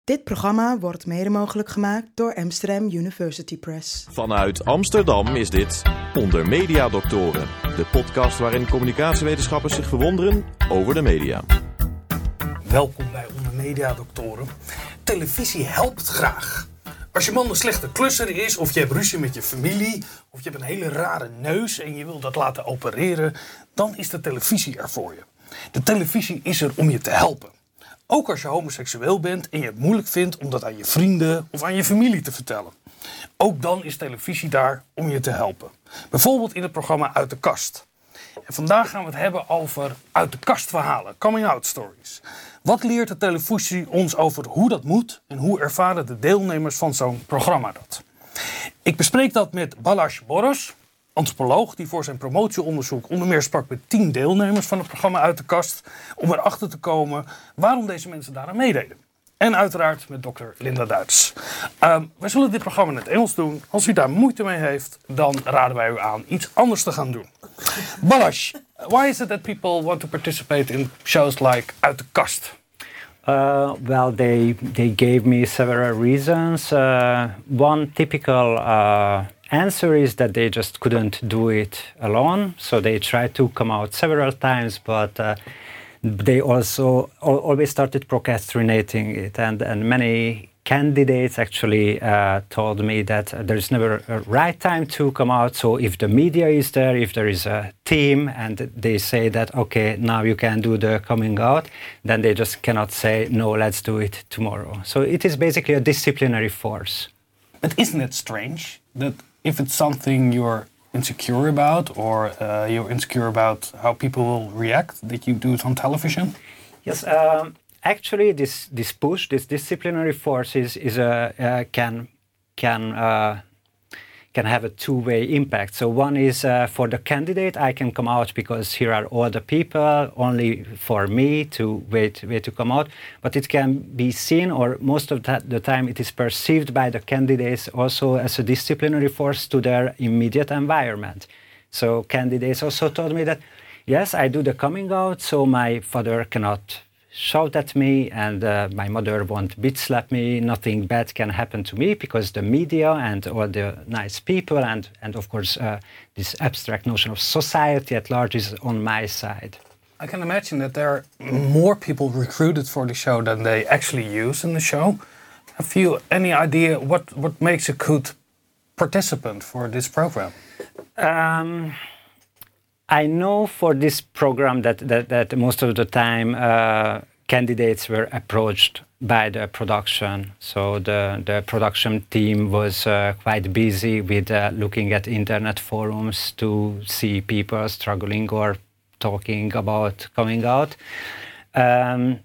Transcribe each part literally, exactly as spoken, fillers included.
Dit programma wordt mede mogelijk gemaakt door Amsterdam University Press. Vanuit Amsterdam is dit Onder Media Doctoren, de podcast waarin communicatiewetenschappers zich verwonderen over de media. Welkom bij Onder Media Doctoren. Televisie helpt graag. Als je man een slechte klusser is, of je hebt ruzie met je familie, of je hebt een hele rare neus en je wil dat laten opereren, dan is de televisie er voor je. De televisie is er om je te helpen. Ook als je homoseksueel bent en je het moeilijk vindt om dat aan je vrienden of aan je familie te vertellen. Ook dan is televisie daar om je te helpen. Bijvoorbeeld in het programma Uit de Kast. En vandaag gaan we het hebben over uit de kast verhalen, coming-out stories. Wat leert de televisie ons over hoe dat moet en hoe ervaren de deelnemers van zo'n programma dat? Ik bespreek dat met Balázs Boros, antropoloog die voor zijn promotieonderzoek onder meer sprak met tien deelnemers van het programma Uit de Kast, om erachter te komen waarom deze mensen daaraan meededen. En uiteraard met dokter Linda Duits. Um, wij zullen dit programma in het Engels doen. Als u daar moeite mee heeft, dan raden wij u aan iets anders te gaan doen. Balázs, why is it that people want to participate in shows like Uit de Kast? Uh, well, they they gave me several reasons. Uh, one typical uh, answer is that they just couldn't do it alone, so they tried to come out several times, but uh, they also al- always started procrastinating it, and, and many candidates actually uh, told me that there's never a right time to come out. So if the media is there, if there is a team and they say that, okay, now you can do the coming out, then they just cannot say, no, let's do it tomorrow. So it is basically a disciplinary force. But isn't it strange that if it's something you're insecure about, or uh, you're insecure about how people will react, that you do it on television? Yes, um, actually, this this push, this disciplinary force is is a uh, can can uh, can have a two-way impact. So one is uh, for the candidate, I can come out because here are all the people, only for me to wait wait to come out. But it can be seen, or most of that, the time, it is perceived by the candidates also as a disciplinary force to their immediate environment. So candidates also told me that, yes, I do the coming out, so my father cannot shout at me, and uh, my mother won't bitch slap me. Nothing bad can happen to me because the media and all the nice people and, and of course, uh, this abstract notion of society at large is on my side. I can imagine that there are more people recruited for the show than they actually use in the show. Have you any idea what, what makes a good participant for this program? Um, I know for this program that, that, that most of the time uh, candidates were approached by the production. So the, the production team was uh, quite busy with uh, looking at internet forums to see people struggling or talking about coming out. Um,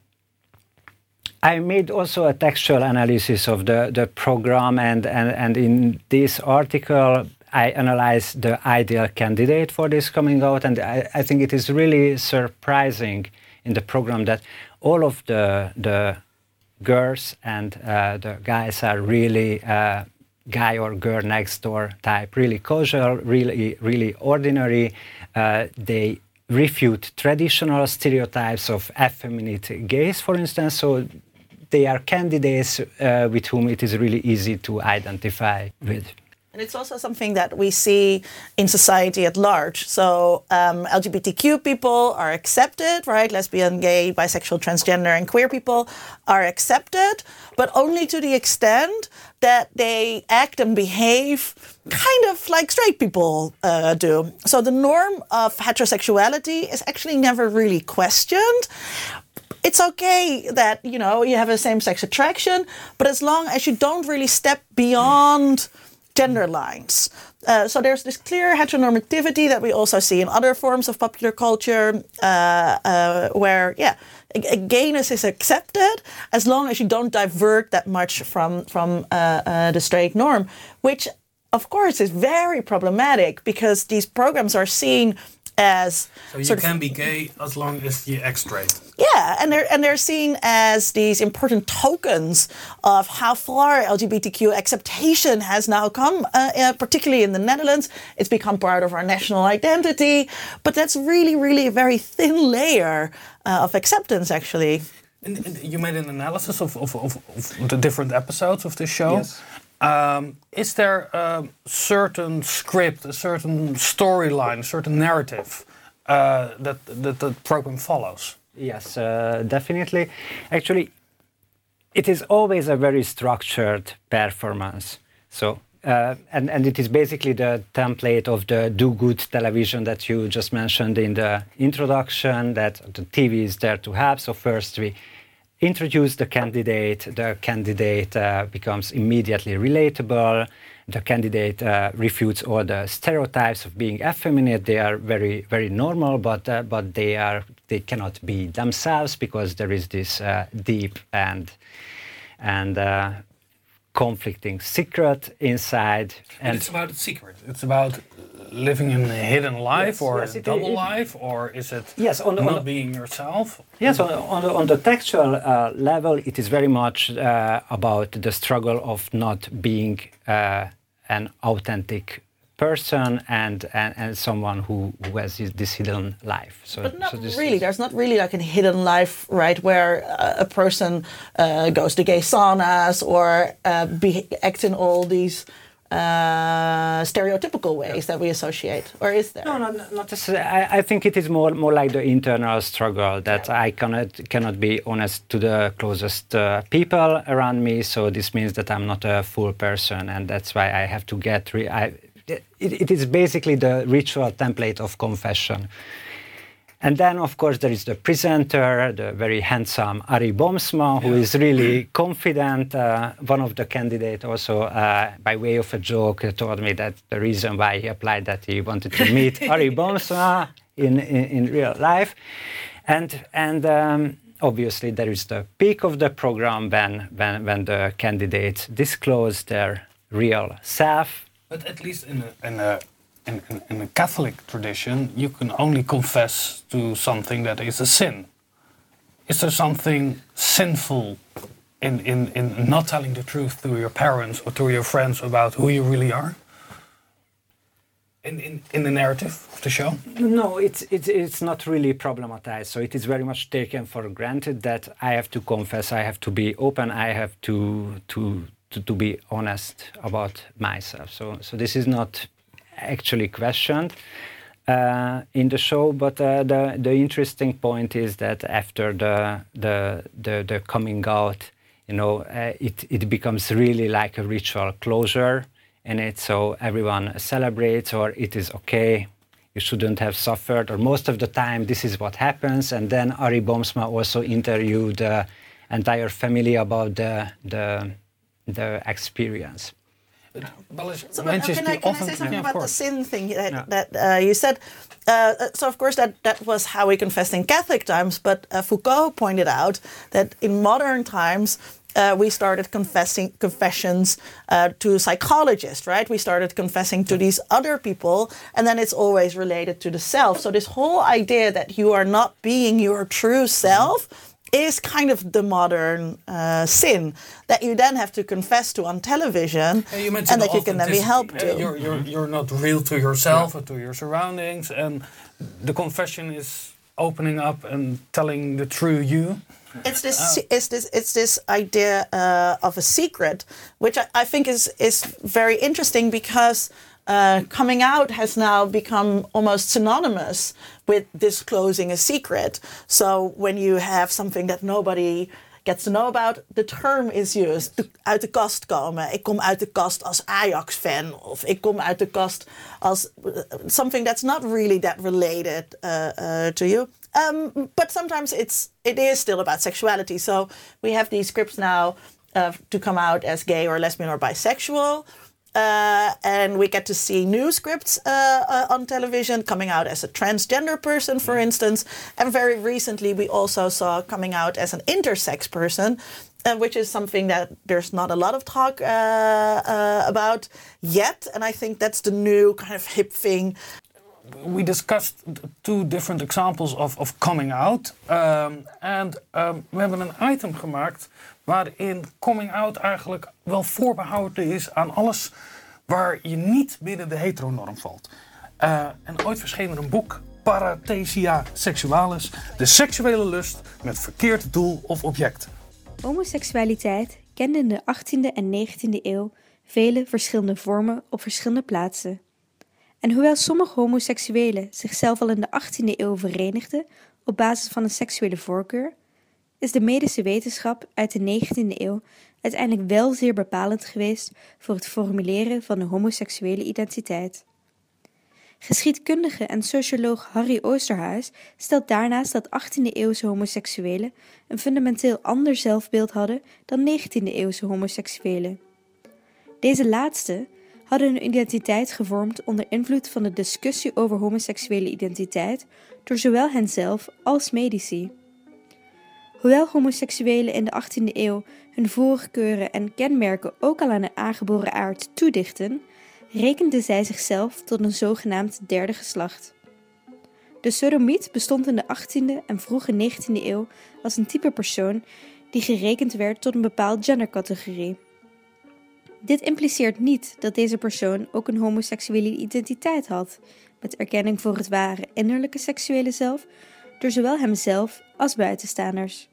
I made also a textual analysis of the, the program, and, and, and in this article I analyzed the ideal candidate for this coming out, and I, I think it is really surprising in the program that all of the the girls and uh, the guys are really uh, guy or girl next door type, really casual, really really ordinary. Uh, they refute traditional stereotypes of effeminate gays, for instance. So they are candidates uh, with whom it is really easy to identify with. And it's also something that we see in society at large. So um, L G B T Q people are accepted, right? Lesbian, gay, bisexual, transgender, and queer people are accepted, but only to the extent that they act and behave kind of like straight people uh, do. So the norm of heterosexuality is actually never really questioned. It's okay that, you know, you have a same-sex attraction, but as long as you don't really step beyond gender lines. Uh, so there's this clear heteronormativity that we also see in other forms of popular culture, uh, uh, where, yeah, a, a gayness is accepted as long as you don't divert that much from, from uh, uh, the straight norm, which, of course, is very problematic because these programs are seen as so you sort can of, be gay as long as you act straight. Yeah, and they're and they're seen as these important tokens of how far L G B T Q acceptation has now come, uh, uh, particularly in the Netherlands. It's become part of our national identity, but that's really, really a very thin layer uh, of acceptance, actually. And, and you made an analysis of, of, of, of the different episodes of this show. Yes. Um, is there a certain script, a certain storyline, a certain narrative uh, that, that the program follows? Yes, uh, definitely. Actually, it is always a very structured performance. So, uh, and, and it is basically the template of the do-good television that you just mentioned in the introduction, that the T V is there to help. So first we introduce the candidate, the candidate uh, becomes immediately relatable, the candidate uh, refutes all the stereotypes of being effeminate. They are very, very normal, but uh, but they are they cannot be themselves because there is this uh, deep and and uh, conflicting secret inside. And, And it's about a secret. It's about living in a hidden life, Yes, or yes, a it- double it- life, or is it Yes, on the- not on the- being yourself? Yes, on, on, the, on the textual uh, level, it is very much uh, about the struggle of not being uh, an authentic person and, and, and someone who, who has this, this hidden life. So, But not so this really. is- There's not really like a hidden life, right, where uh, a person uh, goes to gay saunas or uh, be, acts in all these uh, stereotypical ways that we associate. Or is there? No, no, no, not necessarily. I, I think it is more more like the internal struggle that I cannot cannot be honest to the closest uh, people around me. So this means that I'm not a full person, and that's why I have to get. Re- I, it, it is basically the ritual template of confession. And then, of course, there is the presenter, the very handsome Ari Boomsma, who is really confident. Uh, one of the candidates also, uh, by way of a joke, told me that the reason why he applied that he wanted to meet Ari Boomsma in, in, in real life. And, and um, obviously, there is the peak of the program when, when, when the candidates disclose their real self. But at least in a, in a In, in, in a Catholic tradition, you can only confess to something that is a sin. Is there something sinful in, in, in not telling the truth to your parents or to your friends about who you really are? In, in, in the narrative of the show? No, it's, it's, it's not really problematized. So it is very much taken for granted that I have to confess, I have to be open, I have to, to, to, to be honest about myself. So, so this is not actually questioned uh, in the show, but uh, the the interesting point is that after the the the, the coming out, you know, uh, it it becomes really like a ritual closure in it. So everyone celebrates, or it is okay. You shouldn't have suffered, or most of the time this is what happens. And then Ari Boomsma also interviewed the entire family about the the the experience. So, but, uh, can, I, can I say something yeah, about the sin thing that, Yeah. that uh, you said? Uh, so, of course, that, that was how we confessed in Catholic times, but uh, Foucault pointed out that in modern times, uh, we started confessing confessions uh, to psychologists, right? We started confessing to these other people, and then it's always related to the self. So this whole idea that you are not being your true self is kind of the modern uh, sin that you then have to confess to on television, Yeah, you and that you can then be authenticity. helped Yeah, to. You're, you're, you're not real to yourself or to your surroundings, and the confession is opening up and telling the true you. It's this, it's this, it's this idea uh, of a secret, which I, I think is is very interesting because uh, coming out has now become almost synonymous with disclosing a secret. So when you have something that nobody gets to know about, the term is used. De, uit de kast komen. Ik kom uit de kast als Ajax-fan. Of ik kom uit de kast als uh, something that's not really that related uh, uh, to you. Um, but sometimes it's it is still about sexuality. So we have these scripts now uh, to come out as gay or lesbian or bisexual. Uh, and we get to see new scripts uh, uh, on television coming out as a transgender person, for instance. And very recently, we also saw coming out as an intersex person, uh, which is something that there's not a lot of talk uh, uh, about yet. And I think that's the new kind of hip thing. We discussed two different examples of, of coming out. Um, en um, we hebben een item gemaakt waarin coming out eigenlijk wel voorbehouden is aan alles waar je niet binnen de heteronorm valt. Uh, en ooit verscheen er een boek parathesia sexualis, de seksuele lust met verkeerd doel of object. Homoseksualiteit kende in de achttiende en negentiende eeuw vele verschillende vormen op verschillende plaatsen. En hoewel sommige homoseksuelen zichzelf al in de achttiende eeuw verenigden op basis van een seksuele voorkeur, is de medische wetenschap uit de negentiende eeuw uiteindelijk wel zeer bepalend geweest voor het formuleren van de homoseksuele identiteit. Geschiedkundige en socioloog Harry Oosterhuis stelt daarnaast dat achttiende-eeuwse homoseksuelen een fundamenteel ander zelfbeeld hadden dan negentiende-eeuwse homoseksuelen. Deze laatste hadden hun identiteit gevormd onder invloed van de discussie over homoseksuele identiteit door zowel henzelf als medici. Hoewel homoseksuelen in de achttiende eeuw hun voorkeuren en kenmerken ook al aan een aangeboren aard toedichten, rekenden zij zichzelf tot een zogenaamd derde geslacht. De sodomiet bestond in de achttiende en vroege negentiende eeuw als een type persoon die gerekend werd tot een bepaald gendercategorie. Dit impliceert niet dat deze persoon ook een homoseksuele identiteit had, met erkenning voor het ware innerlijke seksuele zelf, door zowel hemzelf als buitenstaanders.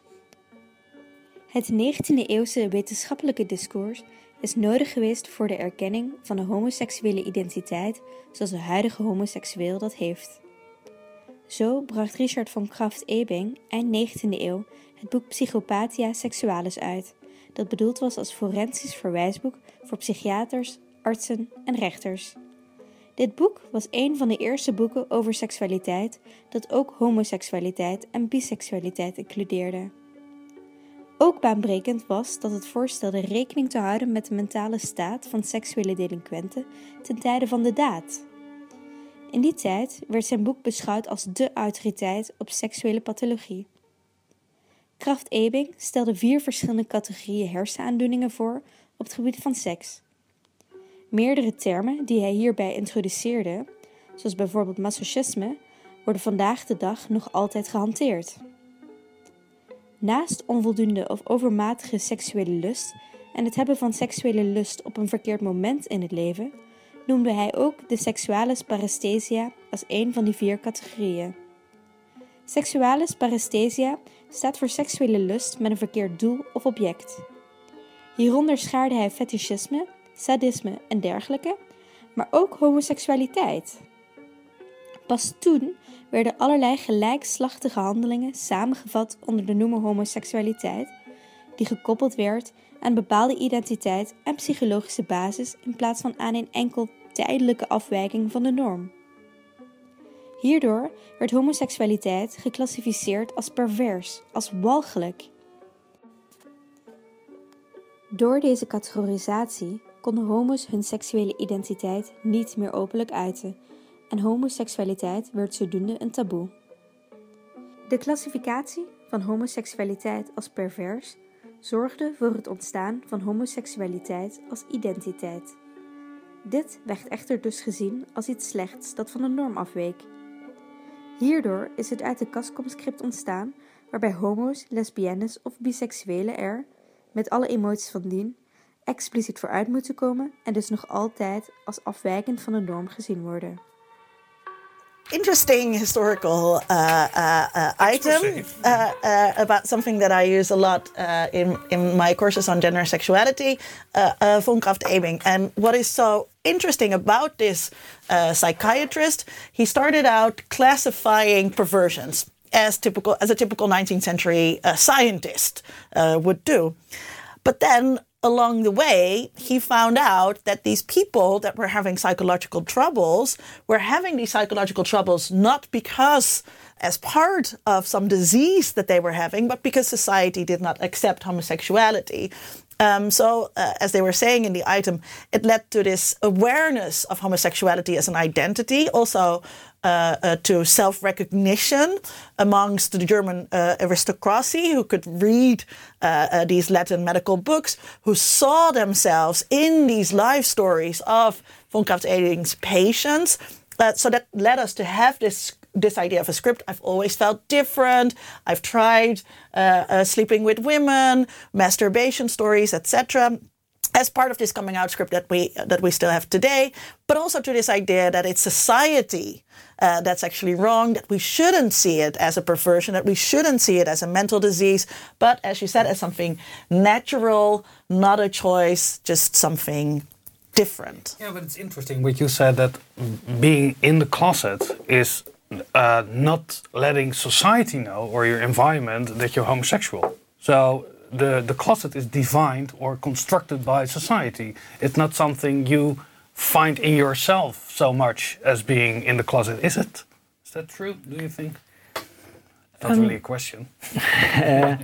Het negentiende-eeuwse wetenschappelijke discours is nodig geweest voor de erkenning van de homoseksuele identiteit zoals de huidige homoseksueel dat heeft. Zo bracht Richard von Krafft-Ebing eind negentiende eeuw het boek Psychopathia Sexualis uit, dat bedoeld was als forensisch verwijsboek voor psychiaters, artsen en rechters. Dit boek was een van de eerste boeken over seksualiteit dat ook homoseksualiteit en biseksualiteit includeerde. Ook baanbrekend was dat het voorstelde rekening te houden met de mentale staat van seksuele delinquenten ten tijde van de daad. In die tijd werd zijn boek beschouwd als dé autoriteit op seksuele pathologie. Krafft-Ebing stelde vier verschillende categorieën hersenaandoeningen voor op het gebied van seks. Meerdere termen die hij hierbij introduceerde, zoals bijvoorbeeld masochisme, worden vandaag de dag nog altijd gehanteerd. Naast onvoldoende of overmatige seksuele lust en het hebben van seksuele lust op een verkeerd moment in het leven, noemde hij ook de seksualis paresthesia als een van die vier categorieën. Seksualis paresthesia staat voor seksuele lust met een verkeerd doel of object. Hieronder schaarde hij fetischisme, sadisme en dergelijke, maar ook homoseksualiteit. Pas toen werden allerlei gelijkslachtige handelingen samengevat onder de noemer homoseksualiteit, die gekoppeld werd aan een bepaalde identiteit en psychologische basis in plaats van aan een enkel tijdelijke afwijking van de norm. Hierdoor werd homoseksualiteit geclassificeerd als pervers, als walgelijk. Door deze categorisatie konden homo's hun seksuele identiteit niet meer openlijk uiten en homoseksualiteit werd zodoende een taboe. De klassificatie van homoseksualiteit als pervers zorgde voor het ontstaan van homoseksualiteit als identiteit. Dit werd echter dus gezien als iets slechts dat van de norm afweek. Hierdoor is het uit de kastkomscript ontstaan waarbij homo's, lesbiennes of biseksuelen er, met alle emoties van dien, expliciet vooruit moeten komen en dus nog altijd als afwijkend van de norm gezien worden. Interesting historical uh, uh, uh, item uh, uh, about something that I use a lot uh, in, in my courses on gender and sexuality, uh, uh, von Krafft-Ebing. And what is so interesting about this uh, psychiatrist, he started out classifying perversions as typical as a typical nineteenth century uh, scientist uh, would do. But then along the way, he found out that these people that were having psychological troubles were having these psychological troubles not because as part of some disease that they were having, but because society did not accept homosexuality. Um, so, uh, as they were saying in the item, it led to this awareness of homosexuality as an identity, also uh, uh, to self-recognition amongst the German uh, aristocracy who could read uh, uh, these Latin medical books, who saw themselves in these life stories of von Krafft-Ebing's patients. Uh, so that led us to have this this idea of a script. I've always felt different. I've tried uh, uh, sleeping with women, masturbation stories, et cetera. as part of this coming out script that we that we still have today, but also to this idea that it's society uh, that's actually wrong, that we shouldn't see it as a perversion, that we shouldn't see it as a mental disease, but as you said, as something natural, not a choice, just something different. Yeah, but it's interesting what you said, that being in the closet is uh, not letting society know or your environment that you're homosexual. So the, the closet is defined or constructed by society. It's not something you find in yourself so much as being in the closet, is it? Is that true, do you think? That's um, really a question. uh,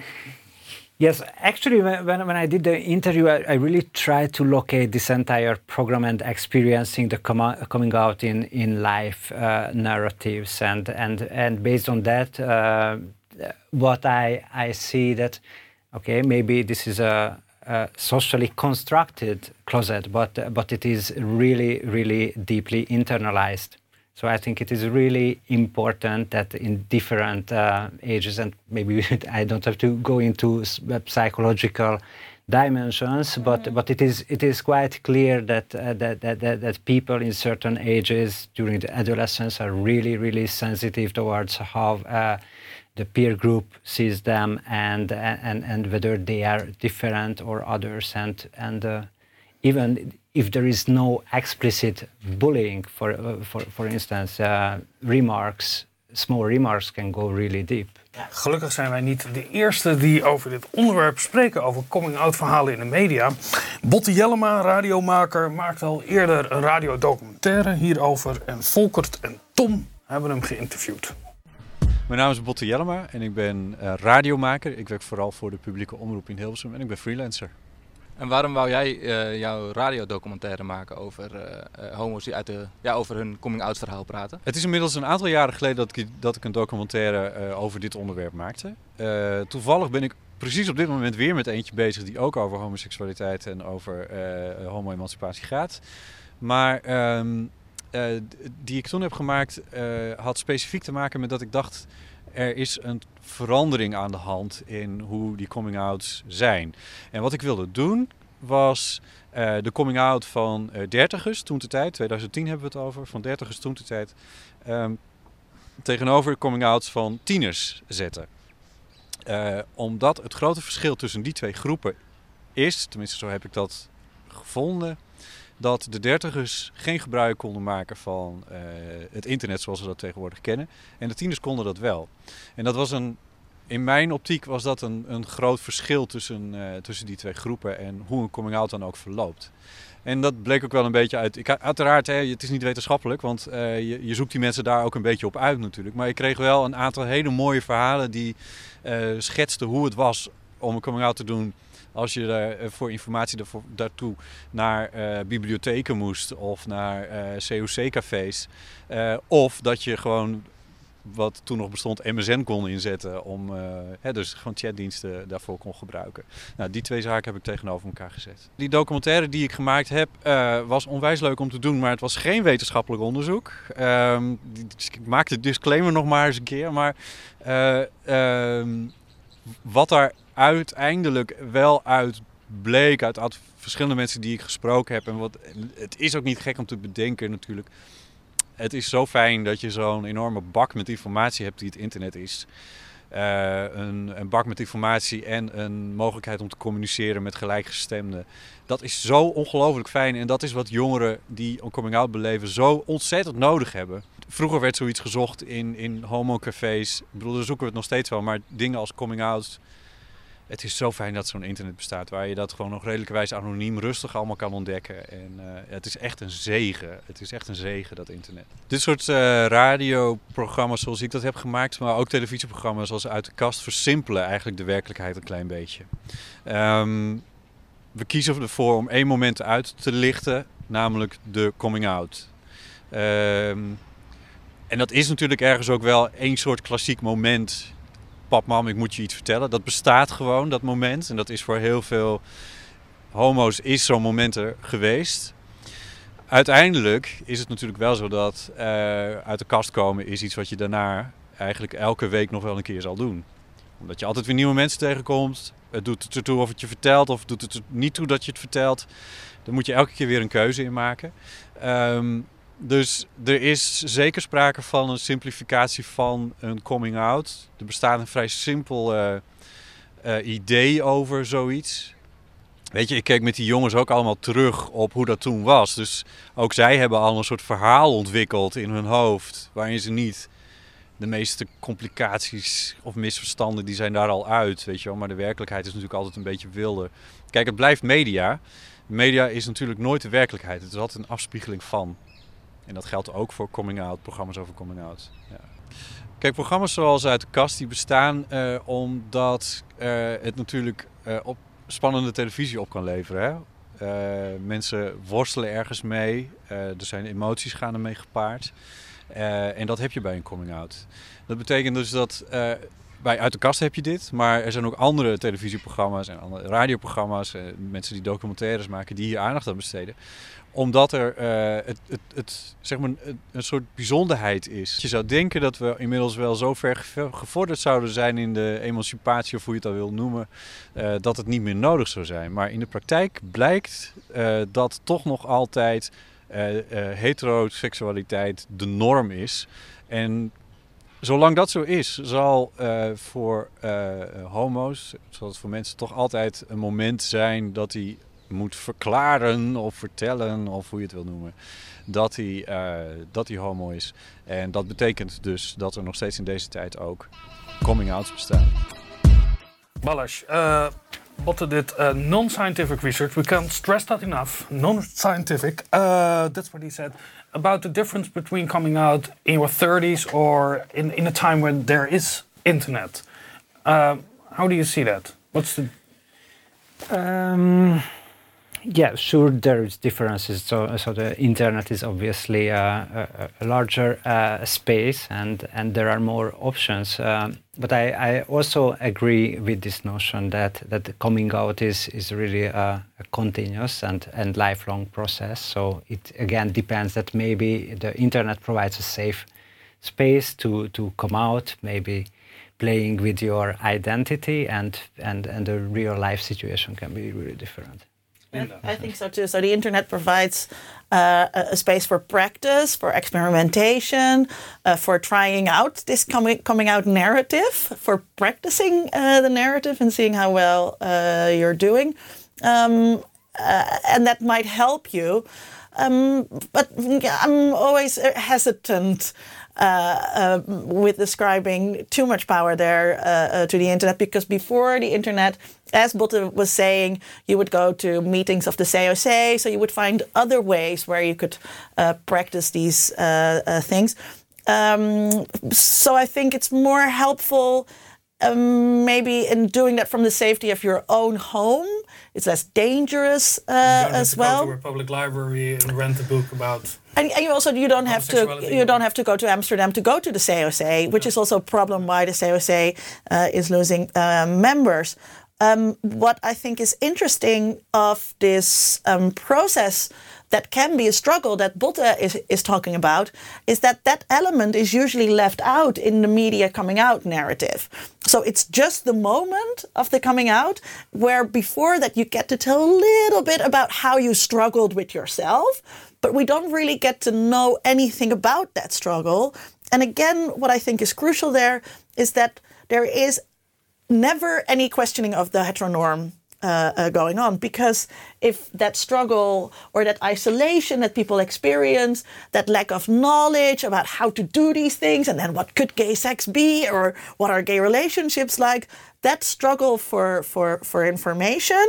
yes, actually, when, when I did the interview, I, I really tried to locate this entire program and experiencing the com- coming out in, in life uh, narratives. And, and, and based on that, uh, what I, I see that, okay, maybe this is a, a socially constructed closet, but but it is really, really deeply internalized. So I think it is really important that in different uh, ages, and maybe I don't have to go into psychological dimensions, mm-hmm. but but it is it is quite clear that, uh, that that that that people in certain ages during the adolescence are really, really sensitive towards how Uh, the peer group sees them, and and and whether they are different or others, and and uh, even if there is no explicit bullying, for uh, for for instance, uh, remarks, small remarks can go really deep. Gelukkig zijn wij niet de eerste die over dit onderwerp spreken, over coming-out verhalen in de media. Botte Jellema, radiomaker, maakte al eerder een radiodocumentaire hierover en Volkert en Tom hebben hem geïnterviewd. Mijn naam is Botte Jellema en ik ben uh, radiomaker. Ik werk vooral voor de publieke omroep in Hilversum en ik ben freelancer. En waarom wou jij uh, jouw radiodocumentaire maken over uh, uh, homo's die uit de, ja, over hun coming-out verhaal praten? Het is inmiddels een aantal jaren geleden dat ik, dat ik een documentaire uh, over dit onderwerp maakte. Uh, toevallig ben ik precies op dit moment weer met eentje bezig die ook over homoseksualiteit en over uh, homo-emancipatie gaat. Maar Um, Uh, die ik toen heb gemaakt uh, had specifiek te maken met dat ik dacht, er is een verandering aan de hand in hoe die coming-outs zijn. En wat ik wilde doen was uh, de coming-out van uh, dertigers toen de tijd, twintig tien hebben we het over, van dertigers toen de tijd, um, tegenover coming-outs van tieners zetten. Uh, omdat het grote verschil tussen die twee groepen is, tenminste zo heb ik dat gevonden, dat de dertigers geen gebruik konden maken van uh, het internet zoals we dat tegenwoordig kennen. En de tieners konden dat wel. En dat was een, in mijn optiek was dat een, een groot verschil tussen, uh, tussen die twee groepen en hoe een coming-out dan ook verloopt. En dat bleek ook wel een beetje uit. Ik, uiteraard, hè, het is niet wetenschappelijk, want uh, je, je zoekt die mensen daar ook een beetje op uit natuurlijk. Maar ik kreeg wel een aantal hele mooie verhalen die uh, schetsten hoe het was om een coming-out te doen. Als je uh, voor informatie daarvoor, daartoe naar uh, bibliotheken moest of naar uh, C O C-cafés. Uh, of dat je gewoon, wat toen nog bestond, M S N kon inzetten. Om uh, hè, dus gewoon chatdiensten daarvoor kon gebruiken. Nou, die twee zaken heb ik tegenover elkaar gezet. Die documentaire die ik gemaakt heb uh, was onwijs leuk om te doen. Maar het was geen wetenschappelijk onderzoek. Um, dus ik maak de disclaimer nog maar eens een keer. Maar uh, um, wat daar uiteindelijk wel uit bleek uit, uit verschillende mensen die ik gesproken heb. En wat, het is ook niet gek om te bedenken natuurlijk. Het is zo fijn dat je zo'n enorme bak met informatie hebt die het internet is. Uh, een, een bak met informatie en een mogelijkheid om te communiceren met gelijkgestemden. Dat is zo ongelooflijk fijn en dat is wat jongeren die een coming-out beleven zo ontzettend nodig hebben. Vroeger werd zoiets gezocht in, in homocafés. Ik bedoel, daar zoeken we het nog steeds wel, maar dingen als coming-out. Het is zo fijn dat zo'n internet bestaat waar je dat gewoon nog redelijkerwijs anoniem rustig allemaal kan ontdekken. En uh, het is echt een zegen. Het is echt een zegen, dat internet. Dit soort uh, radioprogramma's zoals ik dat heb gemaakt, maar ook televisieprogramma's zoals Uit de Kast, versimpelen eigenlijk de werkelijkheid een klein beetje. Um, we kiezen ervoor om één moment uit te lichten, namelijk de coming out. Um, en dat is natuurlijk ergens ook wel één soort klassiek moment. Pap, mam, ik moet je iets vertellen. Dat bestaat gewoon, dat moment. En dat is voor heel veel homo's is zo'n moment er geweest. Uiteindelijk is het natuurlijk wel zo dat uh, uit de kast komen is iets wat je daarna eigenlijk elke week nog wel een keer zal doen. Omdat je altijd weer nieuwe mensen tegenkomt. Het doet het ertoe of het je vertelt of doet het er niet toe dat je het vertelt. Daar moet je elke keer weer een keuze in maken. Um, dus er is zeker sprake van een simplificatie van een coming out. Er bestaat een vrij simpel uh, uh, idee over zoiets. Weet je, ik keek met die jongens ook allemaal terug op hoe dat toen was. Dus ook zij hebben al een soort verhaal ontwikkeld in hun hoofd. Waarin ze niet de meeste complicaties of misverstanden, die zijn daar al uit. Weet je wel? Maar de werkelijkheid is natuurlijk altijd een beetje wilder. Kijk, het blijft media. Media is natuurlijk nooit de werkelijkheid. Het is altijd een afspiegeling van. En dat geldt ook voor coming-out, programma's over coming-out. Ja. Kijk, programma's zoals Uit de Kast, die bestaan uh, omdat uh, het natuurlijk uh, op spannende televisie op kan leveren. Hè? Uh, mensen worstelen ergens mee. Uh, er zijn emoties gaan ermee gepaard. Uh, en dat heb je bij een coming-out. Dat betekent dus dat uh, bij Uit de Kast heb je dit. Maar er zijn ook andere televisieprogramma's en andere radioprogramma's. Uh, mensen die documentaires maken die hier aandacht aan besteden. Omdat er uh, het, het, het, zeg maar een, een soort bijzonderheid is. Je zou denken dat we inmiddels wel zo ver gevorderd zouden zijn in de emancipatie, of hoe je het al wil noemen, uh, dat het niet meer nodig zou zijn. Maar in de praktijk blijkt uh, dat toch nog altijd uh, uh, heteroseksualiteit de norm is. En zolang dat zo is, zal uh, voor uh, homo's, zal het voor mensen toch altijd een moment zijn dat die moet verklaren of vertellen, of hoe je het wil noemen, dat hij, uh, dat hij homo is. En dat betekent dus dat er nog steeds in deze tijd ook coming-outs bestaan. Balázs, uh, Botte did uh, non-scientific research. We can't stress that enough. Non-scientific. Uh, that's what he said. About the difference between coming out in your thirties or in, in a time when there is internet. Uh, how do you see that? What's the... Um... Yeah, sure, there is differences. So, so the internet is obviously uh, a, a larger uh, space, and, and there are more options. Um, but I, I also agree with this notion that that the coming out is is really a, a continuous and, and lifelong process. So it again depends that maybe the internet provides a safe space to to come out, maybe playing with your identity, and and and the real life situation can be really different. I think so too. So the internet provides uh, a space for practice, for experimentation, uh, for trying out this coming coming out narrative, for practicing uh, the narrative and seeing how well uh, you're doing, um, uh, and that might help you. Um, but I'm always hesitant uh, uh, with describing too much power there uh, uh, to the internet, because before the internet, as Botte was saying, you would go to meetings of the C O C, so you would find other ways where you could uh, practice these uh, uh, things. Um, so I think it's more helpful um, maybe in doing that from the safety of your own home. It's less dangerous uh, as well. You don't have to go to a public library and rent a book about. And, and you also you don't have to you don't have to go to Amsterdam to go to the C O C, which is also a problem why the C O C uh, is losing uh, members. Um, what I think is interesting of this um, process that can be a struggle that Botte is, is talking about is that that element is usually left out in the media coming out narrative. So it's just the moment of the coming out where before that you get to tell a little bit about how you struggled with yourself, but we don't really get to know anything about that struggle. And again, what I think is crucial there is that there is never any questioning of the heteronorm uh, uh, going on, because if that struggle or that isolation that people experience, that lack of knowledge about how to do these things, and then what could gay sex be, or what are gay relationships like, that struggle for for for information,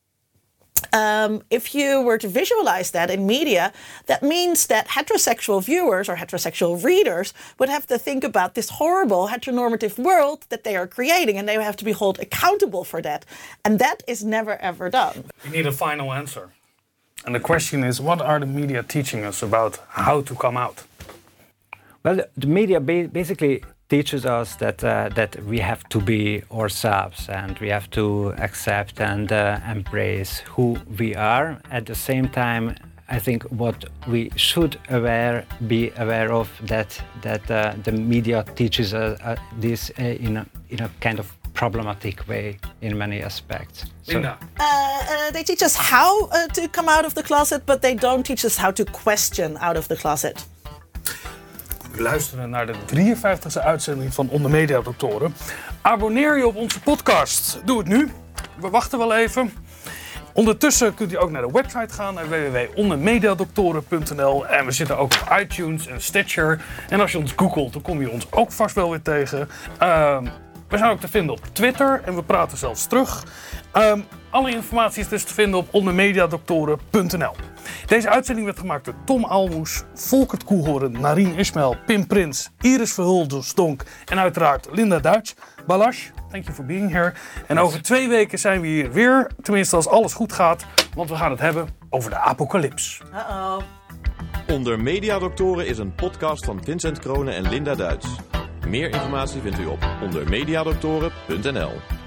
Um, if you were to visualize that in media, that means that heterosexual viewers or heterosexual readers would have to think about this horrible heteronormative world that they are creating, and they have to be held accountable for that. And that is never, ever done. You need a final answer. And the question is, what are the media teaching us about how to come out? Well, the, the media ba- basically teaches us that uh, that we have to be ourselves, and we have to accept and uh, embrace who we are. At the same time, I think what we should aware be aware of that that uh, the media teaches us uh, this uh, in a in a kind of problematic way in many aspects. So, Linda. Uh, uh, they teach us how uh, to come out of the closet, but they don't teach us how to question out of the closet. U luistert naar de drieënvijftigste uitzending van Onder Media Doctoren. Abonneer je op onze podcast. Doe het nu. We wachten wel even. Ondertussen kunt u ook naar de website gaan, naar w w w punt onder mediadoctoren punt n l. En we zitten ook op iTunes en Stitcher. En als je ons googelt, dan kom je ons ook vast wel weer tegen. Uh, we zijn ook te vinden op Twitter en we praten zelfs terug. Uh, alle informatie is dus te vinden op onder mediadoctoren punt n l. Deze uitzending werd gemaakt door Tom Aalmoes, Volkert Koehoorn, Narien Ismail, Pim Prins, Iris Verhulsdonk en uiteraard Linda Duits. Balazs, thank you for being here. En over twee weken zijn we hier weer, tenminste als alles goed gaat, want we gaan het hebben over de apocalyps. Uh-oh. Onder Mediadoktoren is een podcast van Vincent Kroonen en Linda Duits. Meer informatie vindt u op onder mediadoktoren punt n l.